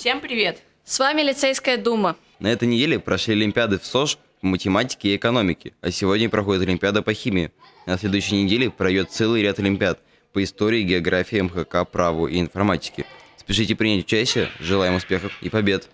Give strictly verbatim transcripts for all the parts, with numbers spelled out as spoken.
Всем привет! С вами Лицейская дума. На этой неделе прошли олимпиады в СОЖ по математике и экономике, а сегодня проходит олимпиада по химии. На следующей неделе пройдет целый ряд олимпиад по истории, географии, эм ха ка, праву и информатике. Спешите принять участие, желаем успехов и побед!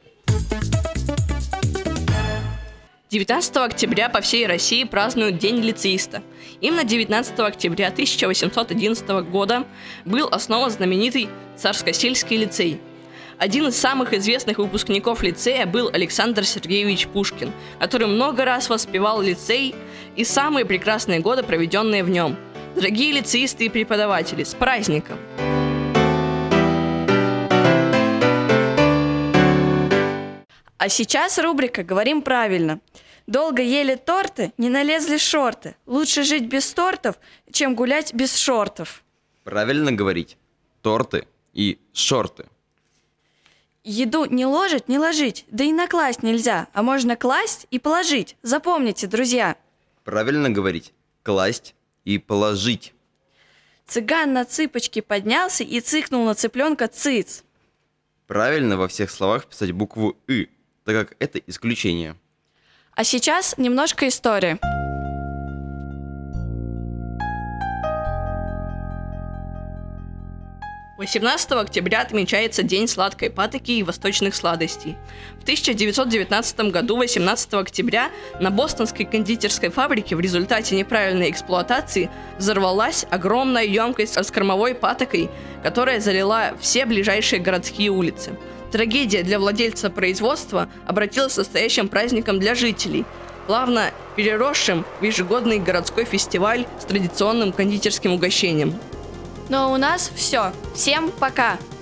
девятнадцатого октября по всей России празднуют День лицеиста. Именно девятнадцатого октября тысяча восемьсот одиннадцатого года был основан знаменитый Царскосельский лицей. Один из самых известных выпускников лицея был Александр Сергеевич Пушкин, который много раз воспевал лицей и самые прекрасные годы, проведенные в нем. Дорогие лицеисты и преподаватели, с праздником! А сейчас рубрика «Говорим правильно». Долго ели торты, не налезли шорты. Лучше жить без тортов, чем гулять без шортов. Правильно говорить торты и шорты. Еду не ложить, не ложить, да и накласть нельзя, а можно класть и положить. Запомните, друзья. Правильно говорить класть и положить. Цыган на цыпочки поднялся и цыкнул на цыпленка цыц. Правильно во всех словах писать букву «ы», так как это исключение. А сейчас немножко истории. восемнадцатого октября отмечается День сладкой патоки и восточных сладостей. В тысяча девятьсот девятнадцатом году, восемнадцатого октября, на бостонской кондитерской фабрике в результате неправильной эксплуатации взорвалась огромная емкость с кормовой патокой, которая залила все ближайшие городские улицы. Трагедия для владельца производства обратилась настоящим праздником для жителей, плавно переросшим в ежегодный городской фестиваль с традиционным кондитерским угощением. Ну а у нас все. Всем пока!